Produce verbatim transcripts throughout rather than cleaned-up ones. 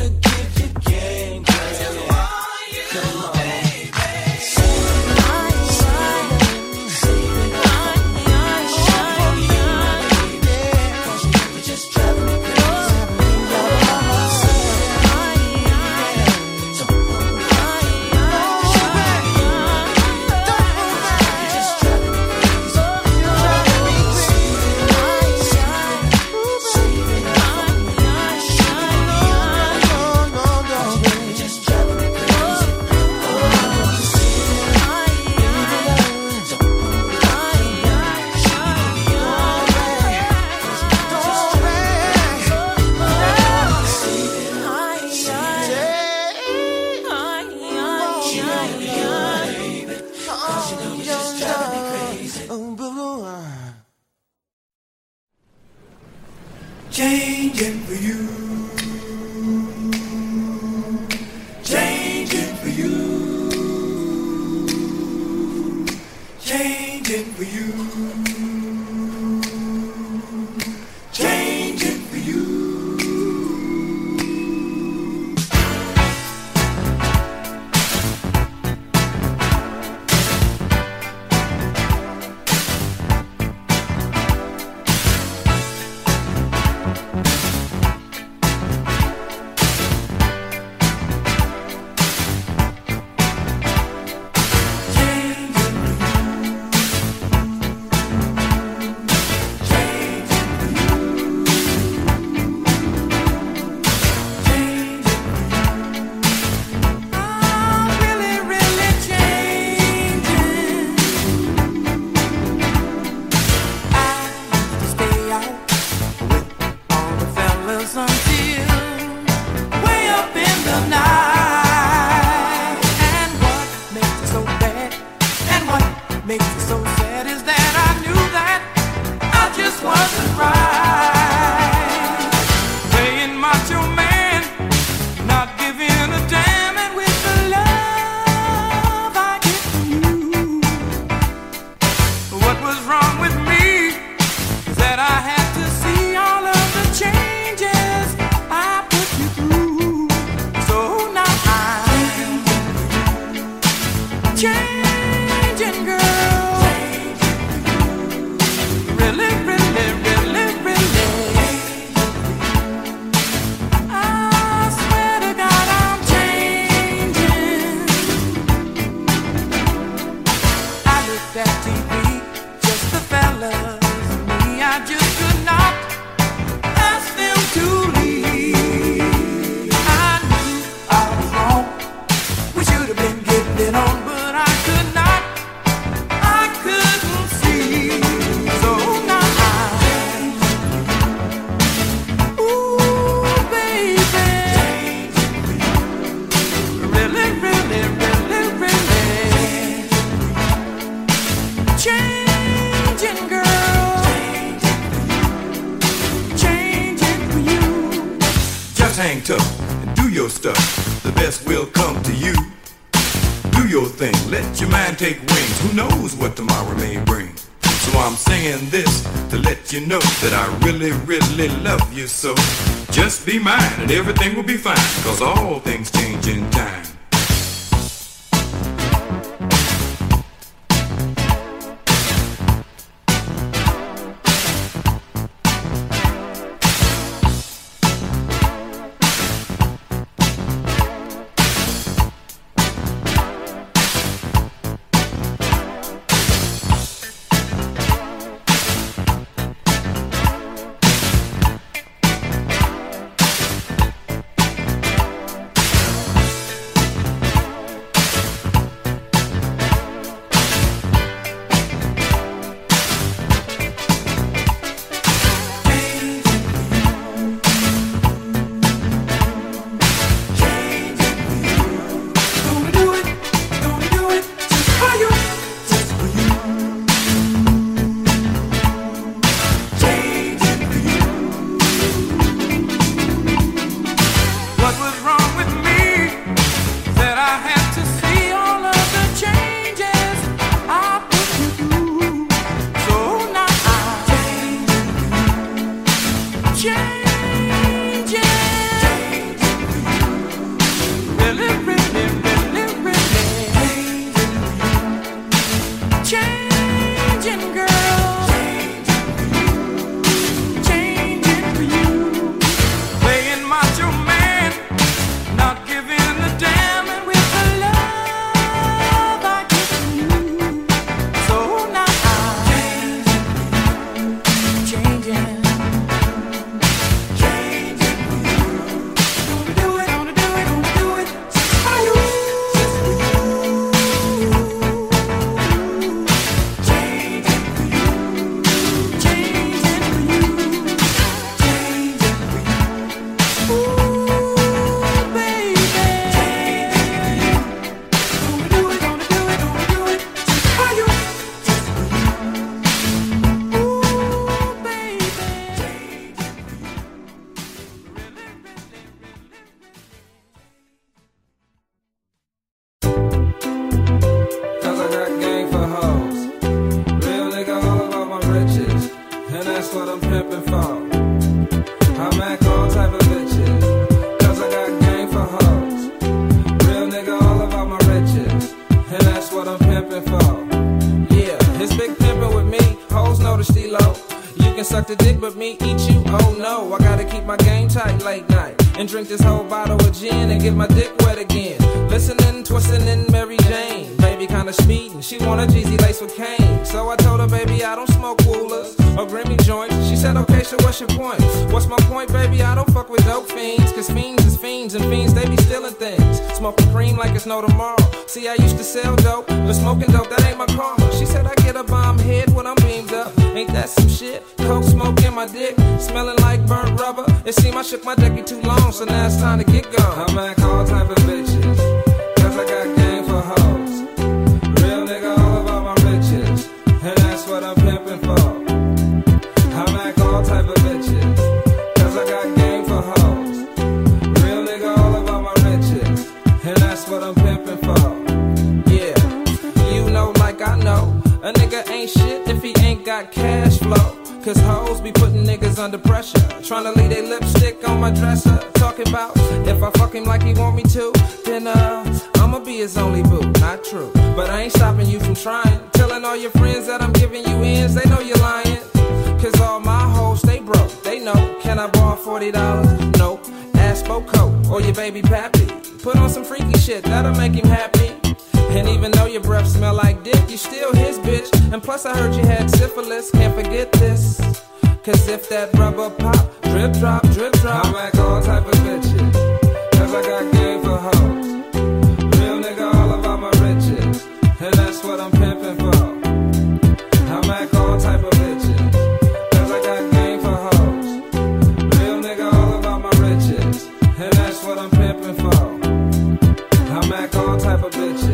Changing for you. Changing for you. Changing for you. Changing for you. Hang tough and do your stuff. The best will come to you. Do your thing, let your mind take wings. Who knows what tomorrow may bring? So I'm singing this to let you know that I really, really love you so. Just be mine and everything will be fine, cause all things change in time. suck the dick but me eat you? Oh no, I gotta keep my game tight late night and drink this whole bottle of gin and get my dick wet again. Listening, twisting in Mary Jane. Baby kinda speeding, she want a Jeezy lace with cane. So I told her, baby, I don't smoke coolers or Grammy joints. She said, okay, so what's your point? What's my point, baby? I don't fuck with dope fiends, cause fiends is fiends and fiends, they be stealing things. Smoking cream like it's no tomorrow. See, I used to sell dope, but smoking dope, that ain't my karma. She said I get a bomb head when I'm beamed up. Ain't that some shit? Coke smoke in my dick, smelling like burnt rubber. It seemed I shook my dicky too long, so now it's time to get gone. I'm like all type of bitches, cause I got game for hoes. Real nigga all about my riches, and that's what I'm pimping for. I'm like all type of bitches, cause I got game for hoes. Real nigga all about my riches, and that's what I'm pimping for. Yeah, you know like I know, a nigga ain't shit if he ain't got cash flow. Cause hoes be putting niggas under pressure, tryna leave they lipstick on my dresser. Talking about if I fuck him like he want me to, then uh, I'ma be his only boo. Not true, but I ain't stopping you from trying. Telling all your friends that I'm giving you ends, they know you're lying. Cause all my hoes, they broke, they know. Can I borrow forty dollars? Nope. Ask Boko or your baby pappy. Put on some freaky shit, that'll make him happy. And even though your breath smell like dick, you still his bitch. And plus I heard you had syphilis, can't forget this. Cause if that rubber pop, drip drop, drip drop, I'm like all type of bitches, cause I got game for hoes. Real nigga all about my riches, and that's what I'm pimping for. I'm like all type of bitches, cause I got game for hoes. Real nigga all about my riches, and that's what I'm pimping for. I'm like all type of bitches.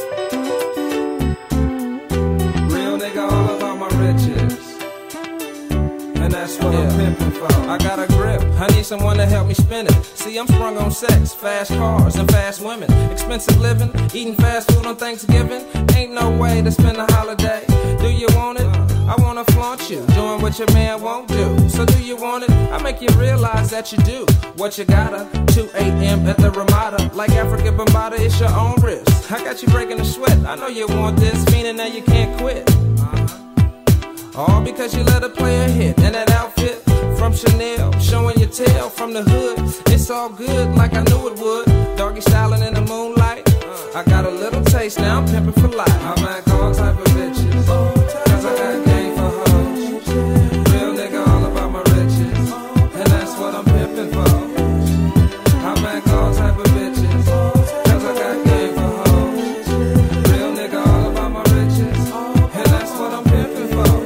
And that's what yeah. I'm pimping for. I got a grip, I need someone to help me spin it. See, I'm sprung on sex, fast cars and fast women. Expensive living, eating fast food on Thanksgiving. Ain't no way to spend a holiday. Do you want it? I wanna flaunt you, doing what your man won't do. So do you want it? I make you realize that you do what you gotta. two a.m. at the Ramada, like Africa Bambaataa, it's your own risk. I got you breaking the sweat, I know you want this, meaning that you can't quit. All because you let her play a hit. And that outfit from Chanel, showing your tail from the hood. It's all good like I knew it would. Doggy styling in the moonlight. I got a little taste, now I'm pimping for life. I'm like all type of bitches, cause I got game for hoes. Real nigga all about my riches, and that's what I'm pimping for. I'm like all type of bitches, cause I got game for hoes. Real nigga all about my riches, and that's what I'm pimping for.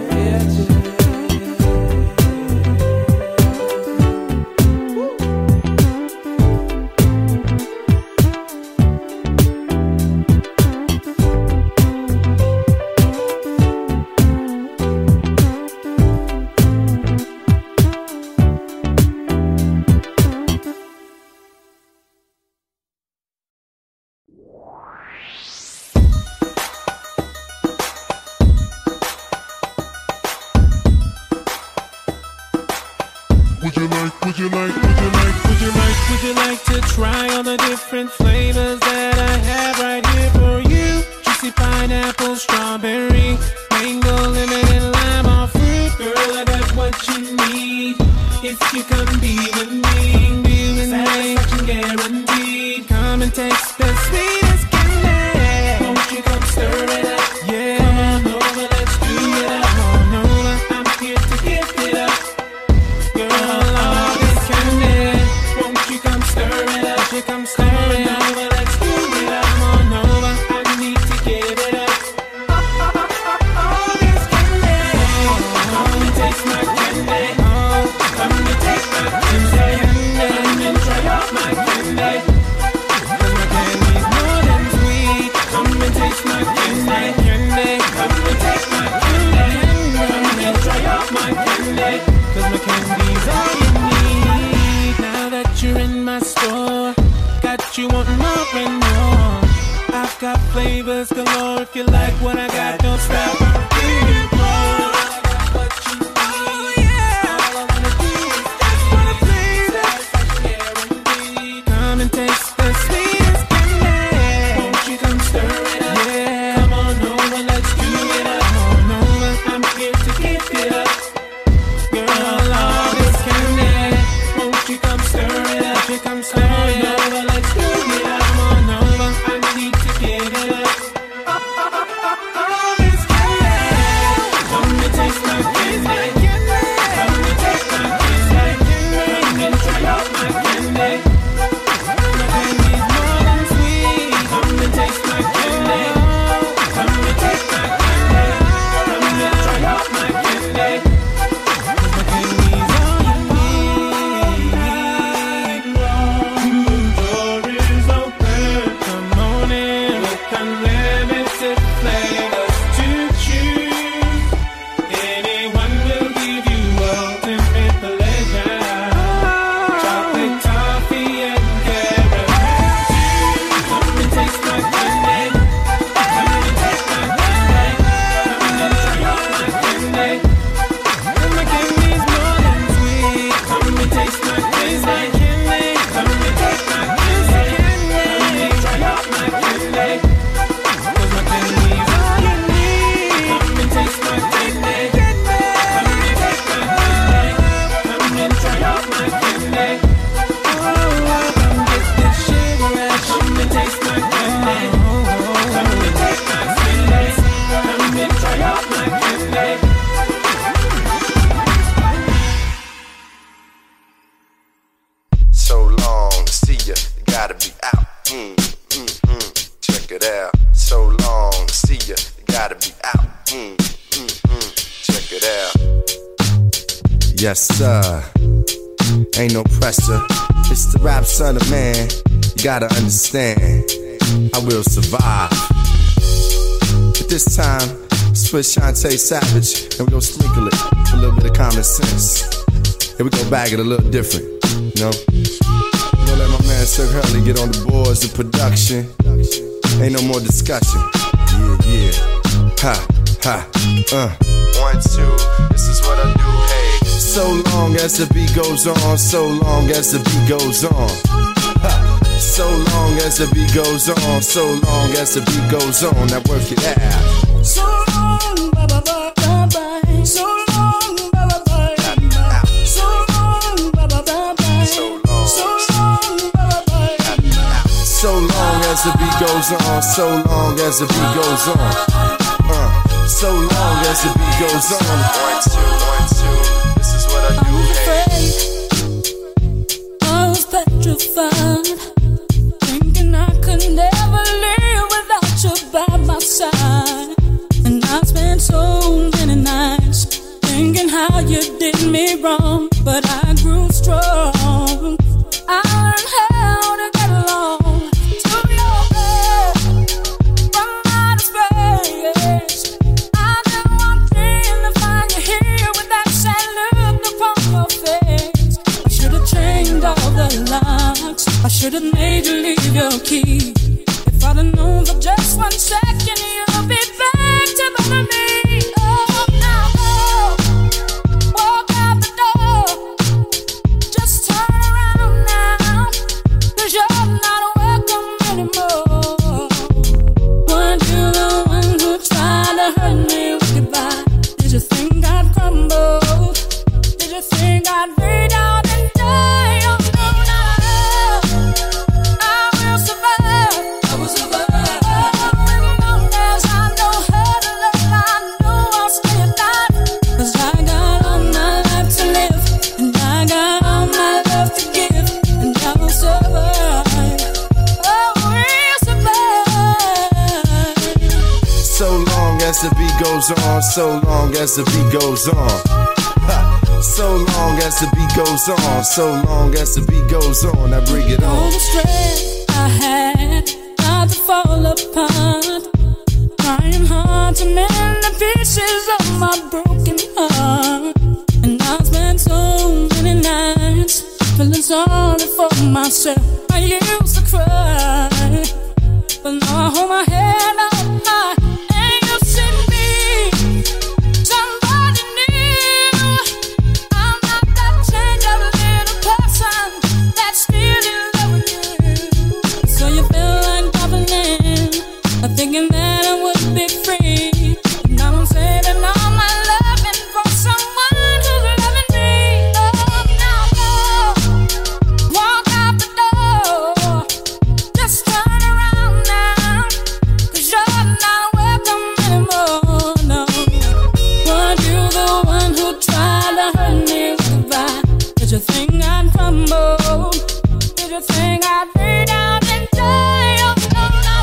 Would you like, would you like, would you like, would you like, would you like to try all the different flavors that I have right here for you? Juicy pineapple, strawberry, mango, lemon, and lime, all fruit. Girl, I got what you need if you come be with me. Be with me, satisfaction guaranteed. Come and taste the sweetest candy. Won't you come stir it up? Yeah, come on over, let's do it up. Come on over, I'm here to give it up. Come stir it over, let's do it up. Come on over, I need to give it up. Oh, this candy, come and taste my candy. Come and taste my candy. Come and try out my candy. Cause my candy's more than sweet. Come and taste my candy. Come and taste my candy. Come and try out my candy. Cause my candy's all you need. Now that you're in my store, got you want more and more. I've got flavors galore. If you like what I got, don't stop. I'll give you more. I got what you need. Oh yeah. All I wanna do is just wanna please it. Guaranteed. Come and taste the sweetest candy. Won't you come stir it up? Yeah. Come on over, let's do it up. Come on over, I'm here to give it up. Mm, mm, mm. Check it out. So long, see ya. You gotta be out. Mm, mm, mm. Check it out. Yes, sir. Ain't no pressure. It's the rap son of man. You gotta understand. I will survive. But this time, split Shantae Savage, and we gon' sprinkle it with a little bit of common sense. And we gon' bag it a little different, you know? We gon' let my man Sir Hurley get on the boards of production. Ain't no more discussion. Yeah, yeah. Ha, ha, uh. One, two, this is what I do, hey. So long as the beat goes on, so long as the beat goes on. Ha. So long as the beat goes on, so long as the beat goes on. Now work it out. So long, bye bye bye bye bye. So long, bye bye bye bye. So long, bye bye bye bye. So long, so long, bye bye bye. So long as the beat goes on, so long as the beat goes on. Uh, so long as the beat goes on. One, two, one, two. This is what I do, hey. I was petrified, thinking I could never live without you by my side. And I spent so many nights thinking how you did me wrong, but I grew strong. I learned how to get along to your bed from outer space. I didn't want to find you here with that sad look upon your face. I should have changed all the locks. I should have made you leave your key. If I'd have known for just one second you'll be back to bother me. Oh, now go, walk out the door. Just turn around now, 'cause you're not welcome anymore. Weren't you the one who tried to hurt me with goodbye? Did you think I'd crumble? Did you think I'd break out and die? Oh, no, no, I will survive. I will survive. As the beat goes on, so long as the beat goes on. Ha. So long as the beat goes on, so long as the beat goes on. I bring it on. All the strength I had not to fall apart, trying hard to mend the pieces of my broken heart. And I spent so many nights feeling sorry for myself. I used to cry, but now I hold my head up high. Thinking that I would be free. Now I'm saving all my loving for someone who's loving me. Oh, now go, walk out the door. Just turn around now, 'cause you're not welcome anymore. No, weren't you the one who tried to hurt me with goodbye? Did you think I'd crumble? Did you think I'd break down and die? Oh, no, no.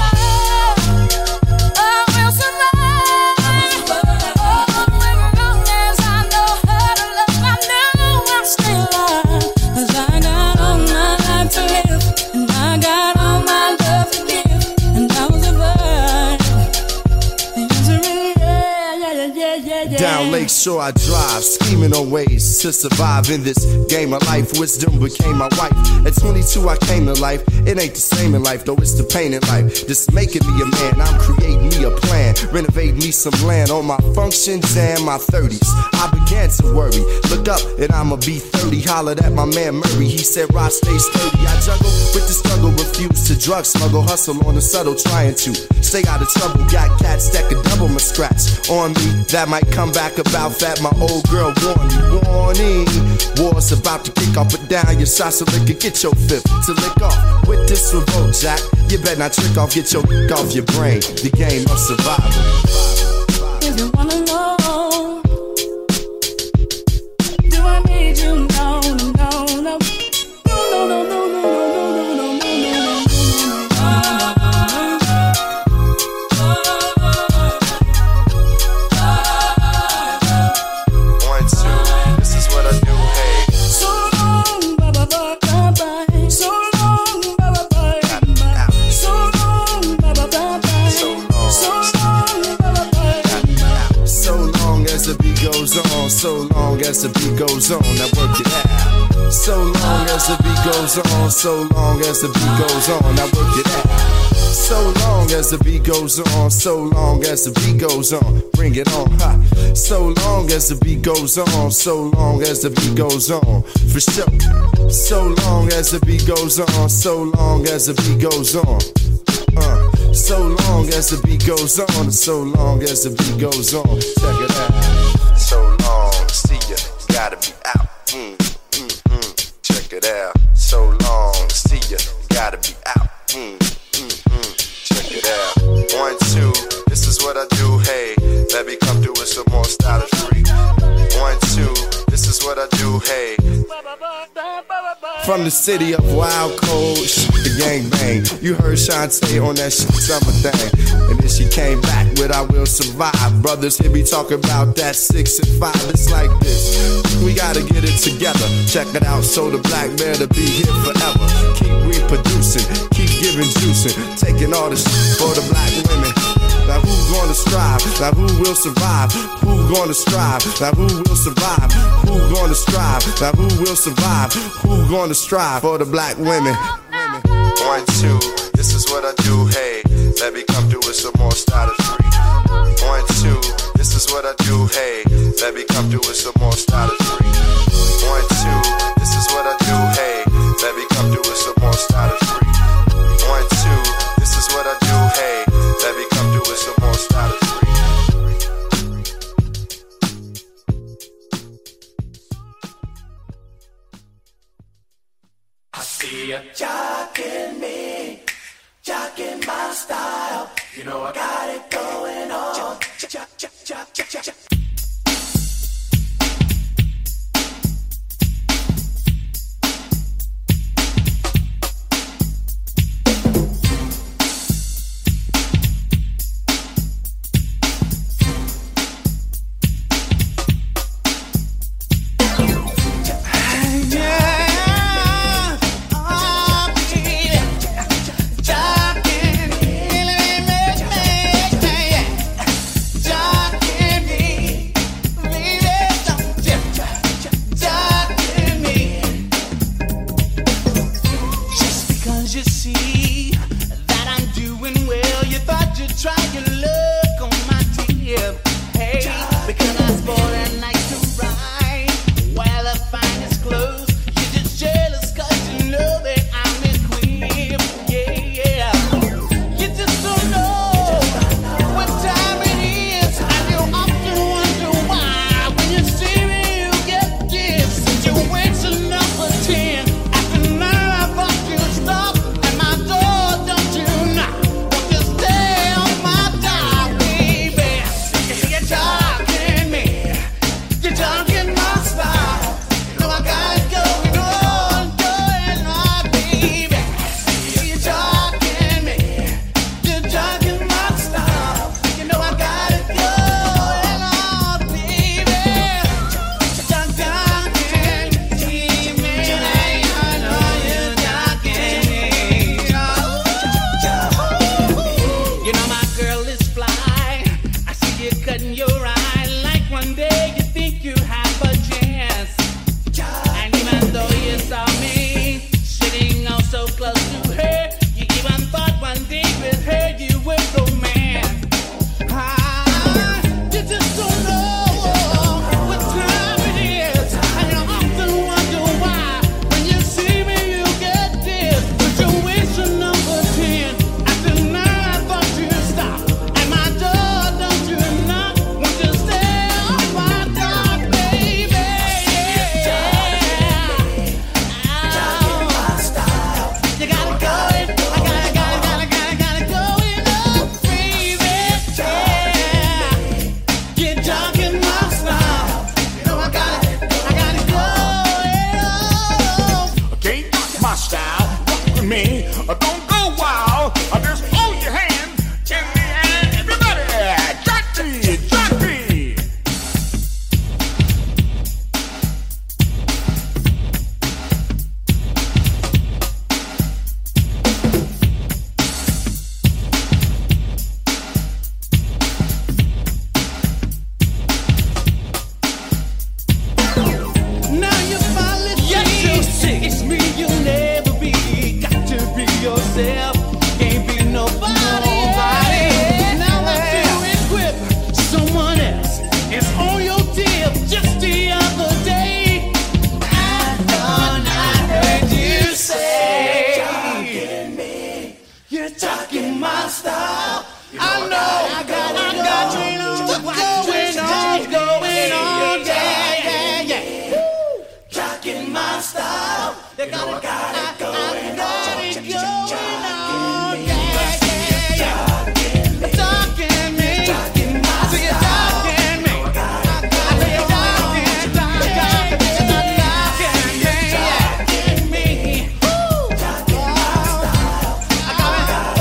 Down Lakeshore I drive, scheming on ways to survive in this game of life. Wisdom became my wife. At twenty-two I came to life. It ain't the same in life, though it's the pain in life. This making me a man, I'm creating me a plan. Renovating me some land on my functions and my thirties. I began to worry, look up and I'ma be thirty. Hollered at my man Murray, he said Rod stay sturdy. I juggle with the struggle, refuse to drug smuggle. Hustle on the subtle, trying to stay out of trouble. Got cats that could double my scratch on me. That might come back about that. My old girl warned me, warning. War's about to kick off, but down your sauce of liquor. Get your fifth to lick off with this revolt, Jack. You better not trick off, get your off your brain. The game of survival. If you wanna know, do I need you? No, no, no, no, no, no, no, no, no, no, no, no, no, no, no. goes on, now work it out. So long as the beat goes on, so long as the beat goes on, now work it out. So long as the beat goes on, so long as the beat goes on, bring it on, ha. So long as the beat goes on, so long as the beat goes on, for sure. So long as the beat goes on, so long as the beat goes on, uh. So long as the beat goes on, so long as the beat goes on, check it out. So long, see ya, gotta be out. Mm, mm, mm, check it out. So long, see ya, gotta be out. Mm, mm, mm, check it out. One, two, this is what I do. Hey, let me come through with some more stylish freak. One, two, this is what I do. Hey. From the city of wild cold, the gang bang. You heard Shantae on that shit summer thing. And then she came back with I Will Survive. Brothers here be talking about that six and five. It's like this, we gotta get it together. Check it out, so the black man to be here forever. Keep reproducing, keep giving juicing, taking all the shit for the black women. Now who gonna strive? Now who will survive? Who gonna strive? Now who will survive? Who gonna strive? Now who will survive? Who gonna strive for the black women? One, two, this is what I do. Hey, let me come through with some more stylish freak. One, two, this is what I do. Hey, let me come through with some more stylish freak. One, two, this is what I do. Hey, let me come through with some more stylish freak. One, two, this is what I do. Hey, let me come through with some more stylish freak. I see ya jocking me, jocking my style. You know I got it going on. Jock, jock, jock, jock, jock, jock. Talk. jocking my style. You know I know, I got, I got you know what's going on, going on, yeah, yeah, yeah. Woo! Jocking my style. They You got know I it, got I, it going I on. got it going on, Jocking me. yeah, yeah, yeah. Jocking me. Talking me, Jocking my I see you style. talking me. I got it I see you talking, talking, talking, talking me. Woo! Jocking my style. I got it.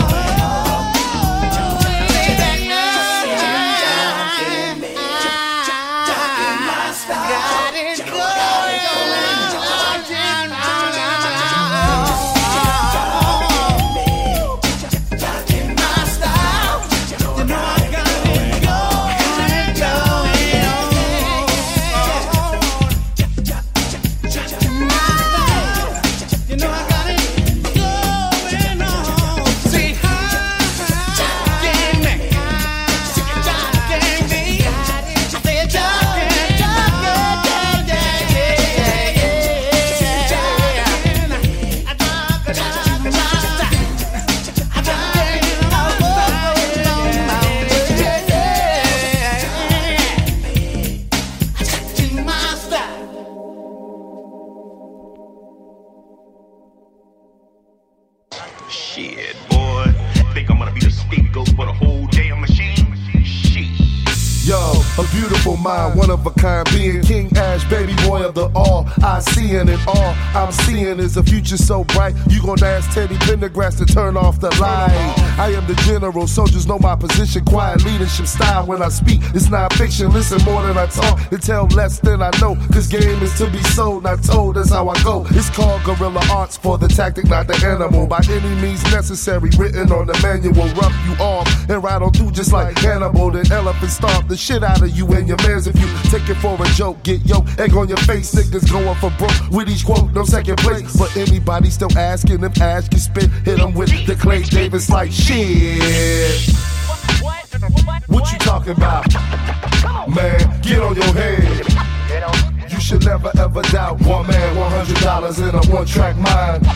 Jocking me. Jocking my style. Got it You know I got it going on. Jocking my style. You know I got it going You know I got it going on. See how jocking me, jocking me. I say jocking, jocking, yeah, yeah, yeah, yeah. I jock, I jock, I jock, I jocking my jocking my style. Shit, boy. Think I'm gonna be the scapegoat for the whole damn machine? Shit. Yo, a beautiful mind, one of a kind being. King Ash, baby boy of the all. I see in it all. I'm seeing is a future so bright. You gon' ask Teddy Pendergrass to turn off the light. I am the general, soldiers know my position. Quiet leadership style when I speak. It's not fiction, listen more than I talk and tell less than I know. This game is to be sold, not told, that's how I go. It's called guerrilla arts for the tactic, not the animal. By any means necessary, written on the manual. Rough you off and ride on through just like Hannibal. Then elephant stomp the shit out of you and your mans. If you take it for a joke, get yo, egg on your face. Niggas going for broke with each quote, no second place. But anybody still asking if Ash can spit, hit them with the Clay Davis like shit. What you talking about? Man, get on your head. You should never ever doubt one man, one hundred dollars in a one track mind.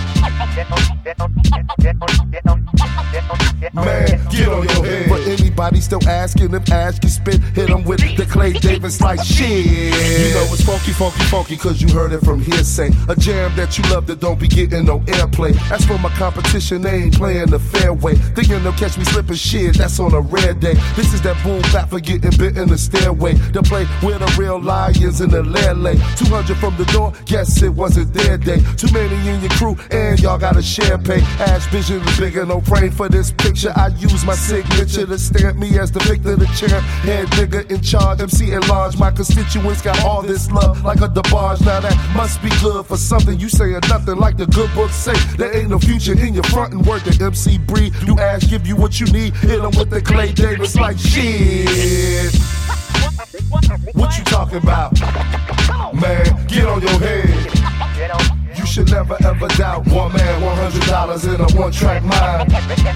Man, get on your head. But anybody still asking if Ash can spit, hit them with the Clay Davis like shit. You know it's funky, funky, funky, cause you heard it from hearsay. A jam that you love that don't be getting no airplay. That's for my competition, they ain't playing the fairway. Thinking they'll catch me slipping shit, that's on a rare day. This is that boom bap for getting bit in the stairway. To play with the real lions in the lele. two hundred from the door, guess it wasn't their day. Too many in your crew, and y'all gotta share pay. Ash vision is bigger, no frame for this picture. I use my signature to stamp me as the victor, the champ. Head nigga in charge, M C at large. My constituents got all this love like a DeBarge. Now that must be good for something. You saying nothing like the good book say. There ain't no future in your front and work the M C breed. You Ash, give you what you need. Hit them with the Clay Davis like shit. What you talking about? Man, get on your head. You should never ever doubt one man, one hundred dollars in a one track mind.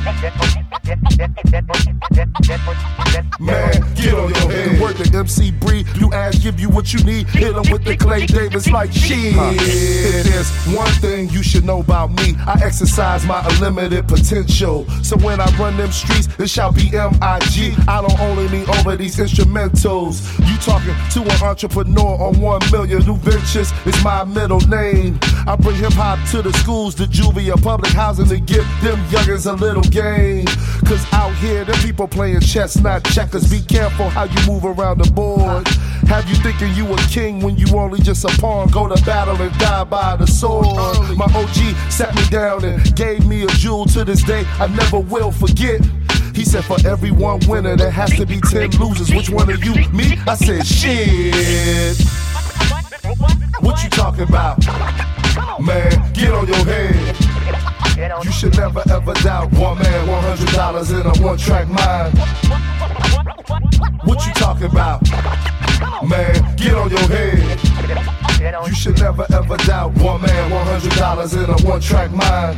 Man, get on your head. Work the M C breed. You Ash, give you what you need. Hit them with the Clay Davis like shit. There's one thing you should know about me. I exercise my unlimited potential. So when I run them streets, it shall be M I G. I don't only mean over these instrumentals. You talking to an entrepreneur on one million new ventures. It's my middle name. I bring hip hop to the schools, the juvia, public housing to give them youngins a little game. Cause out here, them people playing chess, not checkers. Be careful how you move around the board. Have you thinking you a king when you only just a pawn? Go to battle and die by the sword. My O G sat me down and gave me a jewel to this day I never will forget. He said for every one winner there has to be ten losers. Which one of you? Me? I said shit. What you talking about? Man, get on your head. You should never ever doubt one man, one hundred dollars in a one track mind. What you talking about? Man, get on your head. You should never ever doubt one man, one hundred dollars in a one track mind.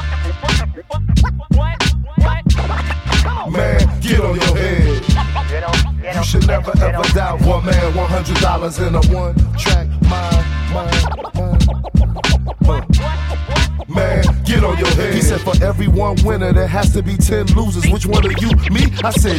Man, get on your head. You should never ever doubt one man, one hundred dollars in a one track mind. mind, mind. Man, get get on your head. He said for every one winner there has to be ten losers. Which one are you? Me? I said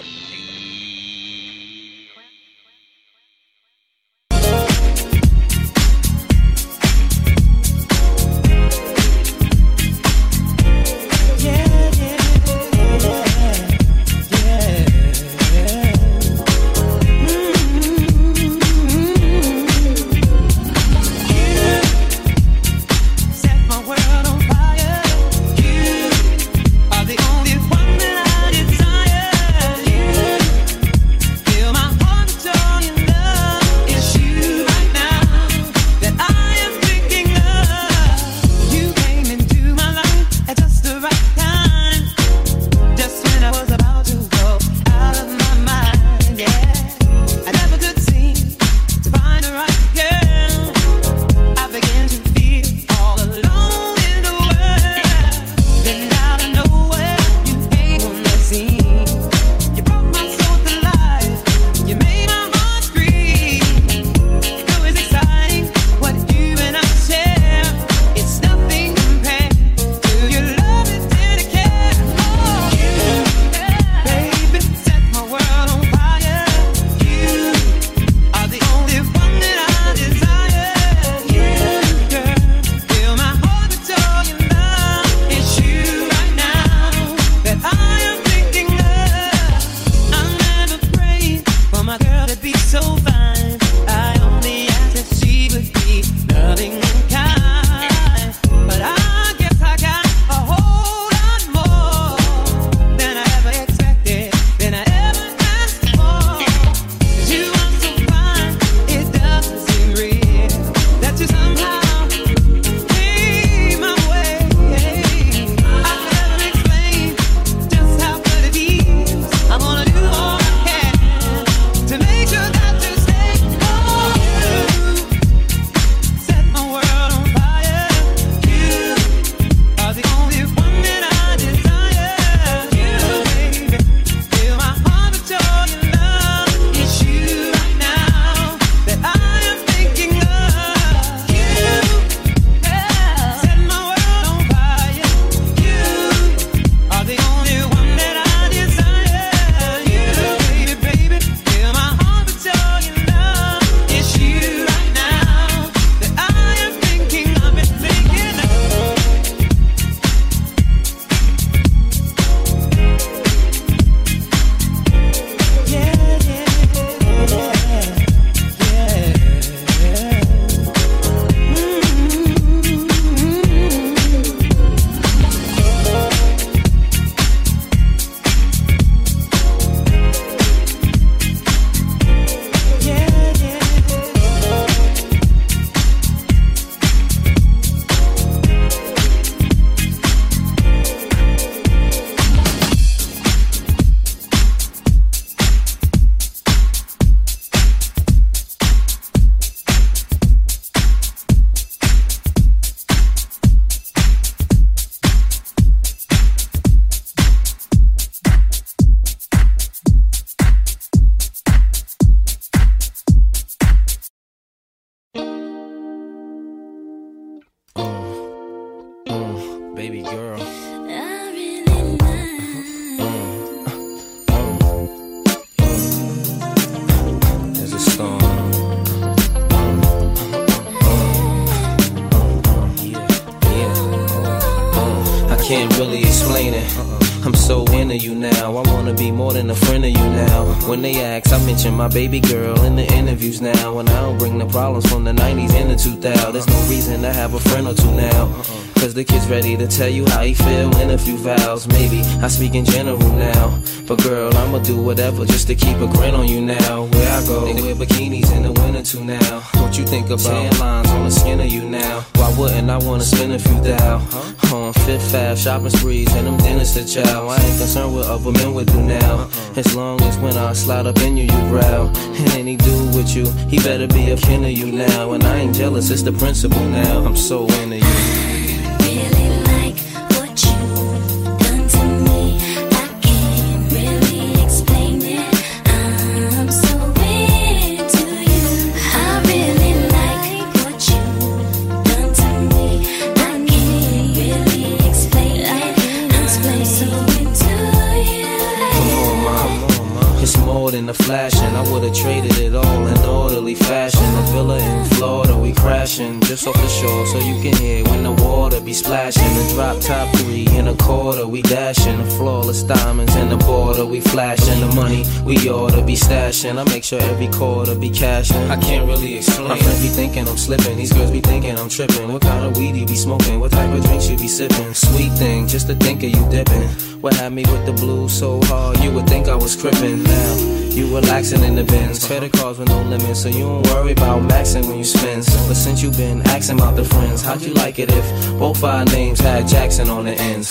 can't really explain it. I'm so into you now, I wanna be more than a friend of you now. When they ask, I mention my baby girl in the interviews now. And I don't bring the problems from the nineties and the two thousands. There's no reason to have a friend or two now, cause the kid's ready to tell you how he feel in a few vows. Maybe I speak in general now, but girl, I'ma do whatever just to keep a grin on you now. Where I go, they wear bikinis in the winter too now. What you think about tan lines on the skin of you now? Why wouldn't I wanna spend a few thou on Fifth Ave shopping sprees and them dinners to chow? I ain't concerned what other men would do now, as long as when I slide up in you, you growl. And any dude with you, he better be a kin of you now. And I ain't jealous, it's the principle now. I'm so into you. Really than the flashing. I would've traded it all in orderly fashion. A villa in Florida, we crashing just off the shore, so you can hear when the water be splashing. The drop top three in a quarter, we dashing. The flawless diamonds in the border, we flashing. The money we oughta be stashing. I make sure every quarter be cashing. I can't really explain. My friends be thinking I'm slipping. These girls be thinking I'm tripping. What kind of weed you be smoking? What type of drinks you be sipping? Sweet thing, just to think of you dipping. What had me with the blues so hard, you would think I was crippin'. Now, you relaxing in the bins. Credit cards with no limits, so you don't worry about maxing when you spend. But since you been asking about the friends, how'd you like it if both our names had Jackson on the ends?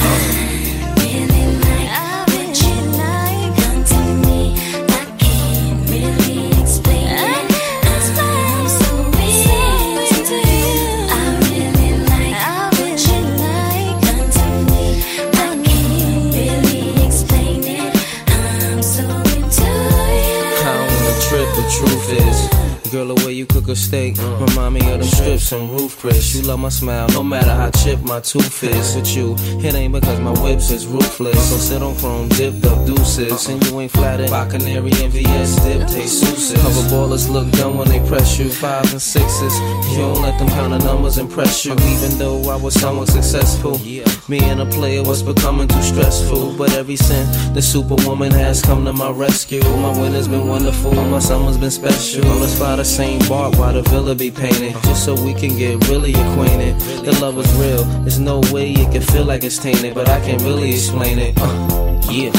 The truth is, girl, the way you cook a steak remind me of them strips and roof Chris. You love my smile, no matter how chipped my tooth is. With you, it ain't because my whips is ruthless. So sit on chrome, dipped up deuces, and you ain't flattered by Canary and V S dip, taste souses. Cover ballers look dumb when they press you. Fives and sixes, you don't let them kind of numbers impress you. Even though I was somewhat successful, me and a player was becoming too stressful. But every since the superwoman has come to my rescue, my winter's been wonderful, my summer's been special. Let's fly the same bark while the villa be painted, just so we can get really acquainted. The love is real, there's no way it can feel like it's tainted, but I can't really explain it. Uh, yeah.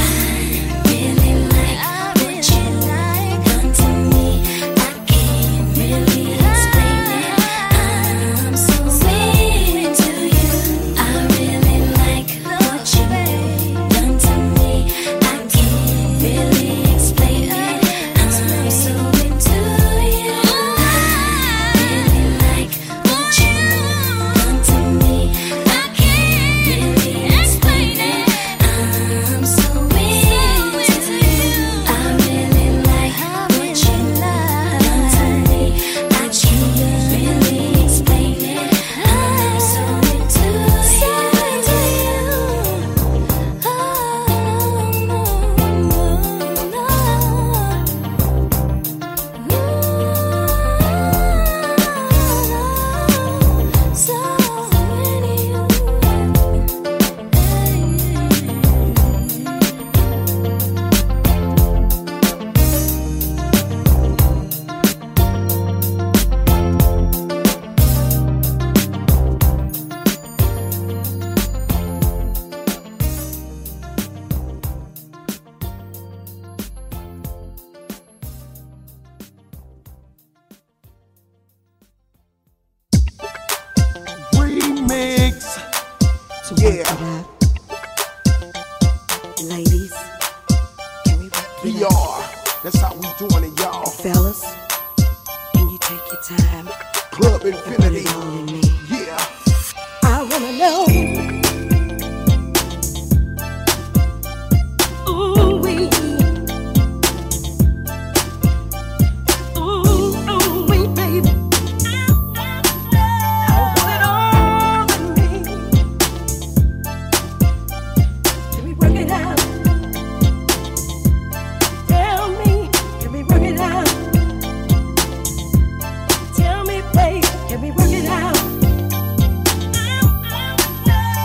Yeah. Ladies, can we rock it out? That's how we doing it, y'all. Fellas, can you take your time? Club Infinity. Yeah. I wanna know. Ooh, we. Ooh, ooh, we, baby. I want it all in me. Can we work it out? Tell me, can we work it out? Tell me, babe, can we work it out?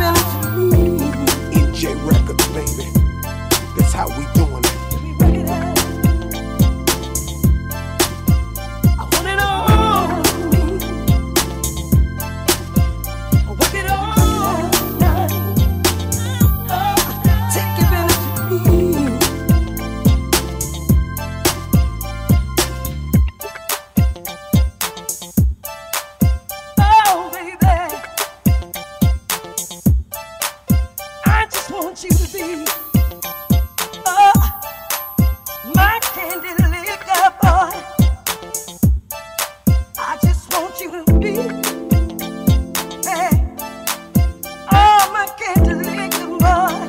giving it to me. N J Records, baby. That's how we doing it. Let me work it out. I want it all in me. I work it all night. Oh, take giving it to me. Oh, baby, I just want you to be oh, my candy liquor boy. I just want you to be hey, oh, my candy liquor boy.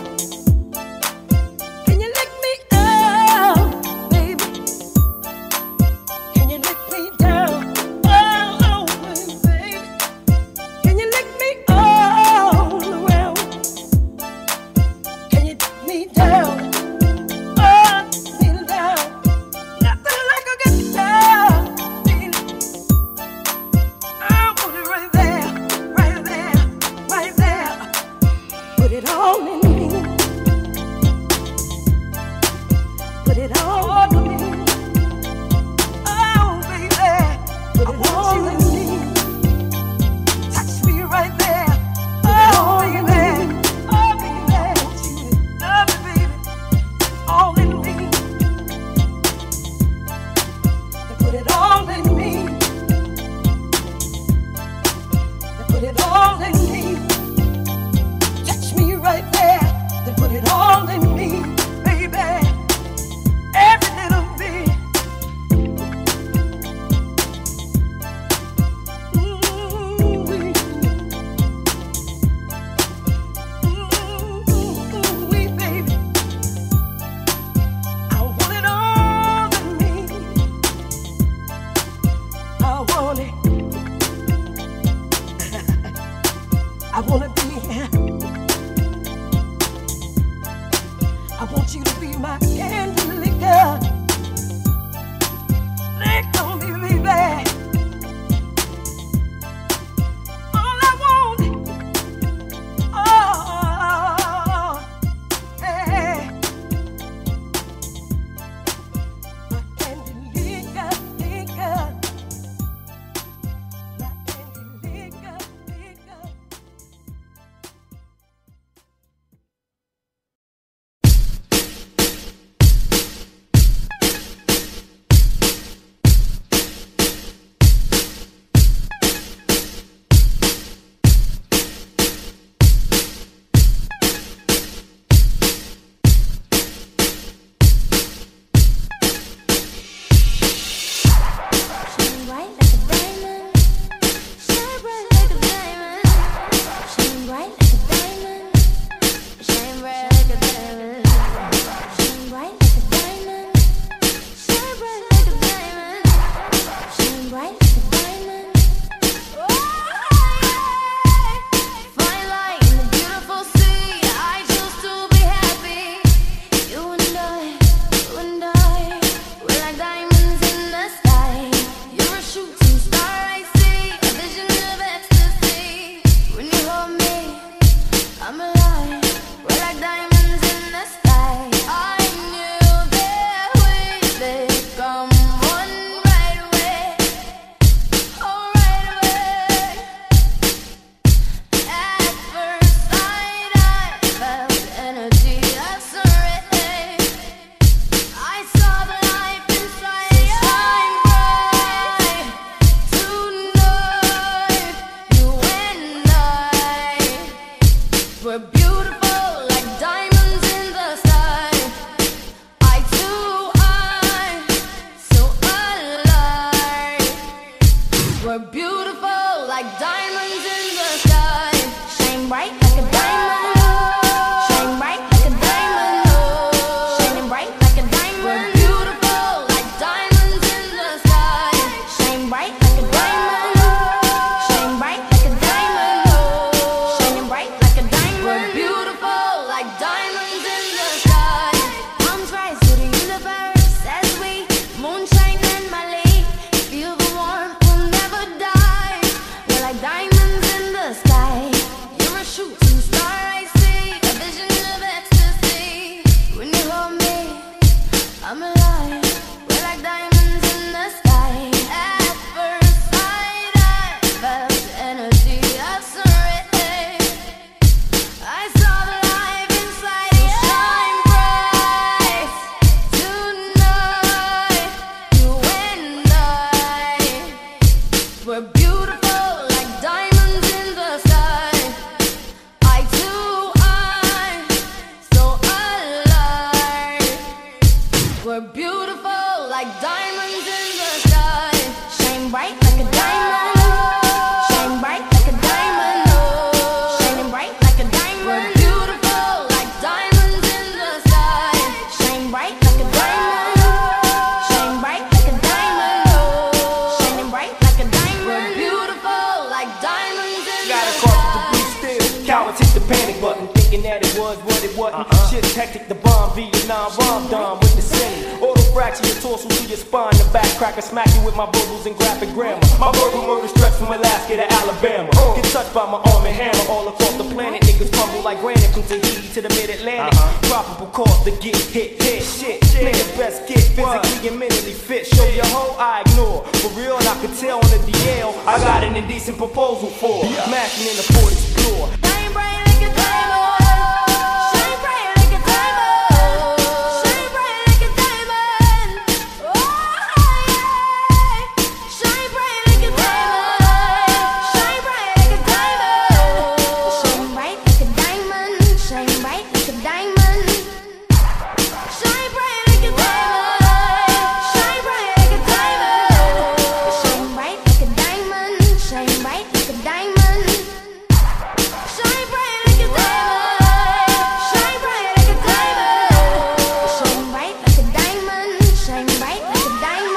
Can you lick me up, baby? Can you lick me down? Oh, oh, baby. Can you lick me all around? Can you lick me down? Oh, kneel down. Nothing like a good down, baby. I want it right there, right there, right there. Put it all in me. Put it all in me. Oh, baby, put it all in me. Touch me right there. Oh, baby. Oh, baby. Love me, baby. All in me. They put it all in me. They put it all in me. Touch me right there. They put it all in me, baby. Every little bit. Ooh-wee. Ooh-wee, baby. I want it all in me. I want it. I want to be here. I want you to be my candy liquor. Lick on me, baby. All I want, oh, hey, my candy liquor, liquor, my candy liquor, liquor. Shine bright like a diamond. Shine bright like a diamond. Shine bright like a diamond. Shine bright like a diamond. Shine bright like a diamond. Shine bright like a diamond. Shine bright like a diamond. Flying light in the beautiful sea. I choose to be happy. You and I, you and I, we're like diamonds in the sky. You're a shooting star, I see, a vision of ecstasy. When you hold me, I'm alive. We're like diamonds in the sky. I knew that we'd become one right away. Oh, right away. At first sight, I felt energy accelerate. I saw the light inside. Shine bright tonight. You and I, we're beautiful like diamonds in the sky. Eye to eye, so alive. We're beautiful like diamonds in the sky. Shine bright like a diamond. Shine bright like a diamond. Shining bright like a diamond. We're beautiful like diamonds in the sky. Shine bright like a diamond. Shine bright like a diamond. Shining bright like a diamond. We're beautiful. that it was what it wasn't. Uh-uh. Shit's hectic, the bomb, Vietnam, rom dom with the city. Auto fracture your torso to your spine, the back cracker, smack you with my vocals and graphic grammar. My verbal murder stretch from Alaska to Alabama. Get touched by my arm and hammer all across the planet. Niggas crumble like granite from Tahiti to the mid-Atlantic. Uh-huh. Probable cause to get hit, hit, shit. Niggas best get physically and mentally fit. Show your hoe, I ignore. For real, and I could tell on the D L, I got an indecent proposal for yeah. Mashing in the forties floor. Brain, brain, like a diamond. Shine bright like a diamond. Shine bright like a diamond. Oh, yeah. Shine bright like a diamond. Shine bright like a diamond. Shine bright like a diamond. Shine bright like a diamond. Shine bright like a diamond. Shine bright like a diamond. Shine bright like a diamond. Shine bright like a diamond. Shine bright like a diamond. Shine bright like a diamond. Shine bright like a diamond. Shine bright like a diamond.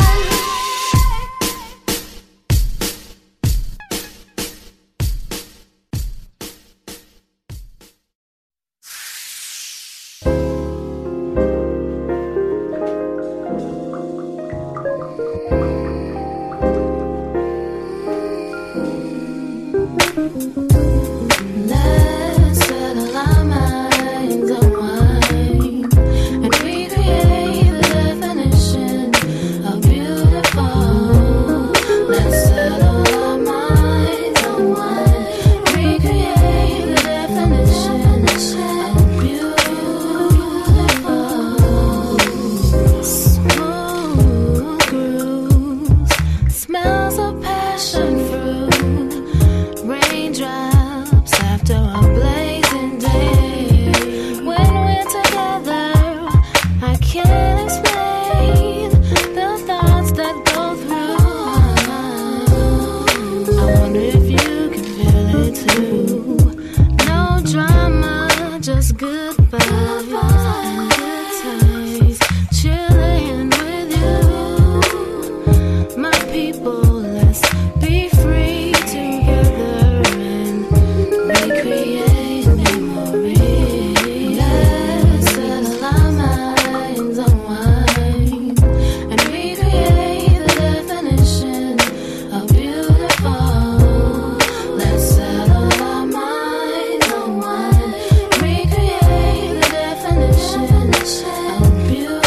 Let's settle our minds on wine and recreate the definition of beautiful. Let's settle our minds on wine, recreate the definition of beautiful. Smooth grooves, smells of passion fruit, raindrops after a blazing day. When we're together, I can't explain the thoughts that go through. I wonder if you can feel it too. No drama, just good vibes and good times, chilling with you, my people. Let's be free together and recreate memories. Let's settle our minds on wine and recreate the definition of beautiful. Let's settle our minds on wine, recreate the definition of beautiful.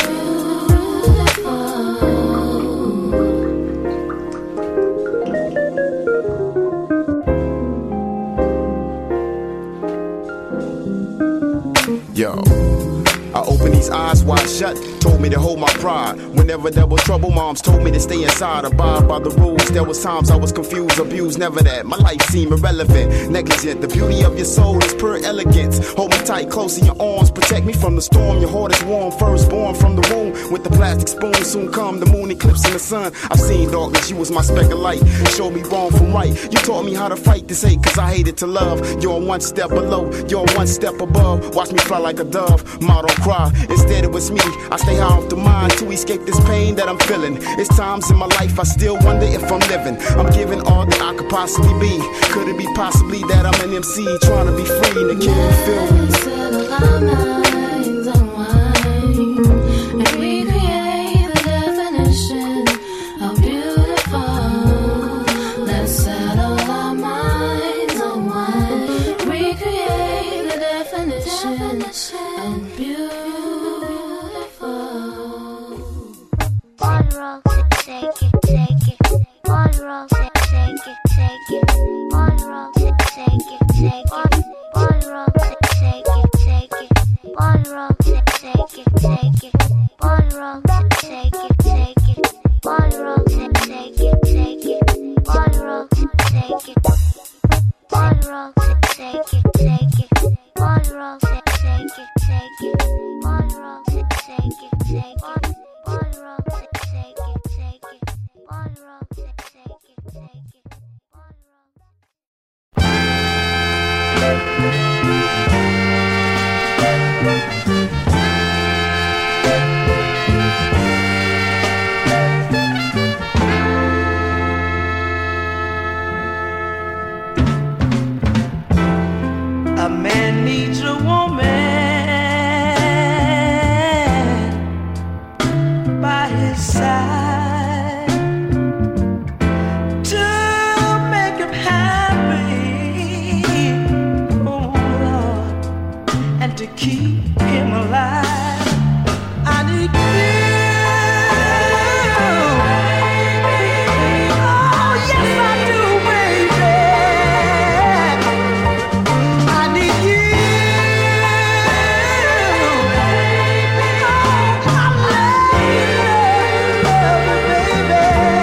Yo, I opened these eyes wide shut, told me to hold my pride. Whenever there was trouble, moms told me to stay inside, abide by the rules. There was times I was confused, abused, never that. My life seemed irrelevant, negligent. The beauty of your soul is pure elegance. Hold me tight, close in your arms, protect me from the storm. Your heart is warm, first born from the womb. With the plastic spoon, soon come the moon eclipse in the sun. I've seen darkness, you was my speck of light. Showed me wrong from right. You taught me how to fight this hate, cause I hated to love. You're one step below, you're one step above. Watch me fly like a dove, motto cry. Instead it was me, I stay high off the mind to escape this pain that I'm feeling. It's times in my life I still wonder if I'm living. I'm giving all that I could possibly be. Could it be possibly that I'm an M C trying to be free and the kid will feel me? Let's settle our minds on wine and recreate the definition of beautiful. Let's settle our minds on wine, recreate the definition of beautiful. One roll, take it, take it. One roll, take it, take it. One roll, take it, take it. One roll, take it, take it. One roll, take it, take it. One roll, take it, take it. One roll, take it, take it. One roll, take it. One roll, take it, take it. One roll, take it, take it. One roll, take it, take it. One roll, take it, take it. One roll, take it, take it. A man needs a woman keep him alive. I need you. Oh, yes, I do, baby. I need you. Oh, I love you, love you, baby.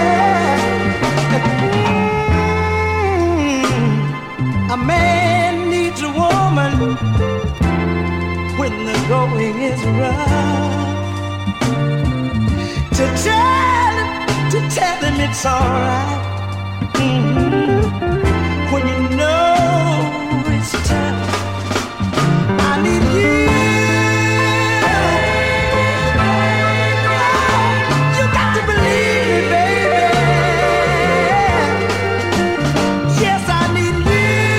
Mm, a man needs a woman when the going is rough, to tell him, to tell him it's alright. Mm-hmm. When you know it's tough, I need you. You got to believe me, baby. Yes, I need you.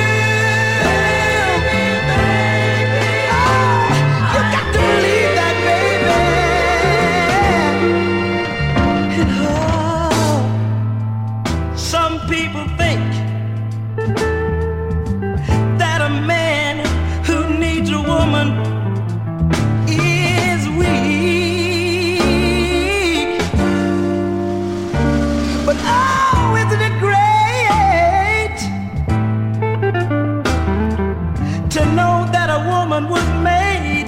People think that a man who needs a woman is weak, but oh, isn't it great to know that a woman was made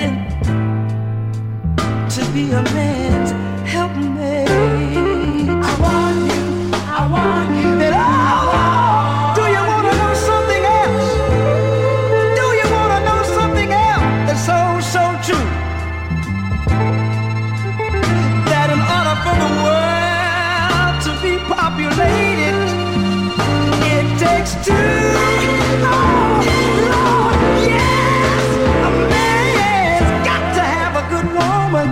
to be a man's helpmate. I want you, I want you. And oh, do you want to know something else? Do you want to know something else that's so, so true? That in order for the world to be populated, it takes two. Oh, Lord, yes! A man's got to have a good woman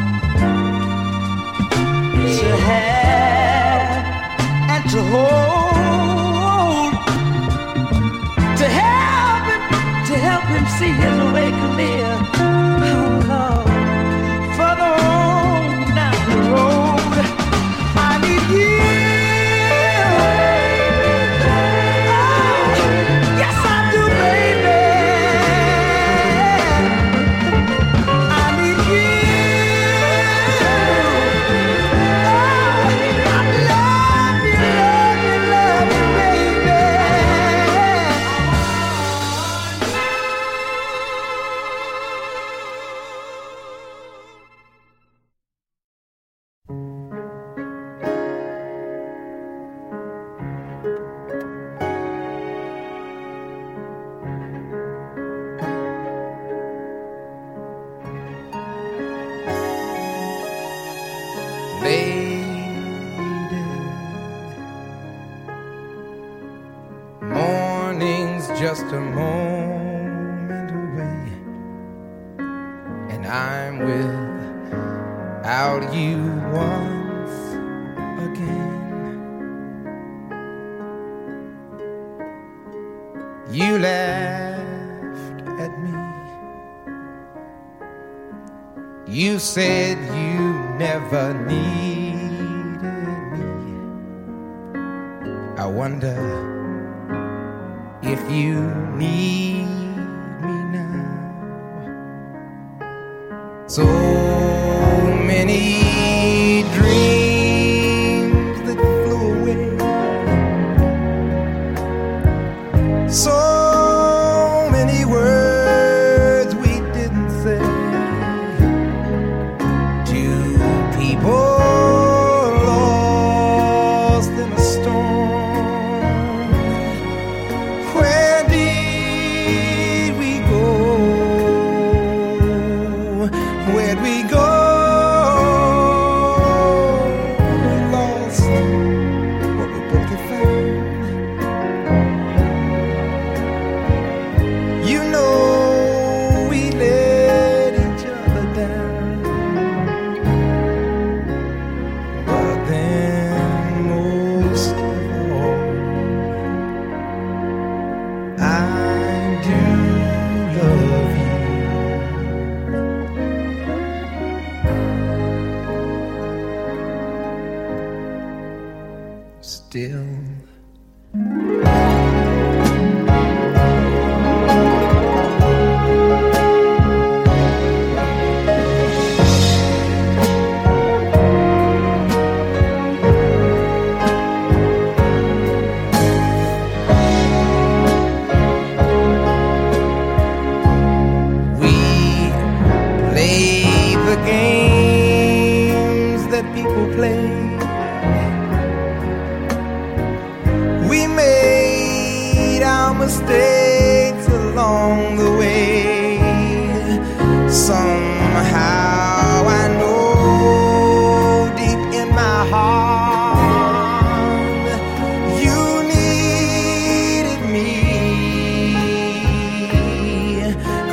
to have and to hold, to help him, to help him see his way clear. Oh Lord, further on down the road, I need you. Oh, yes I do, baby. I need you. Oh, I love you, love you, love you, baby. Lady, morning's just a moment away, and I'm without you once again. You laughed at me. You said you never needed me. I wonder if you need me now. So many dreams that flew away, so many words we didn't say. People lost in a storm. Where did we go? Where'd we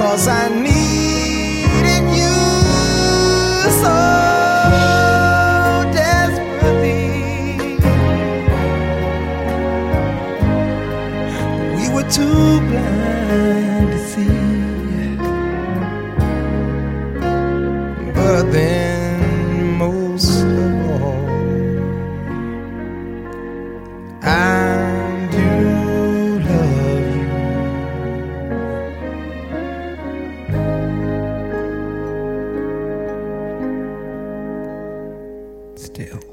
'cause I needed you so desperately. We were too blind to see. But then most of all, I do love you. Still.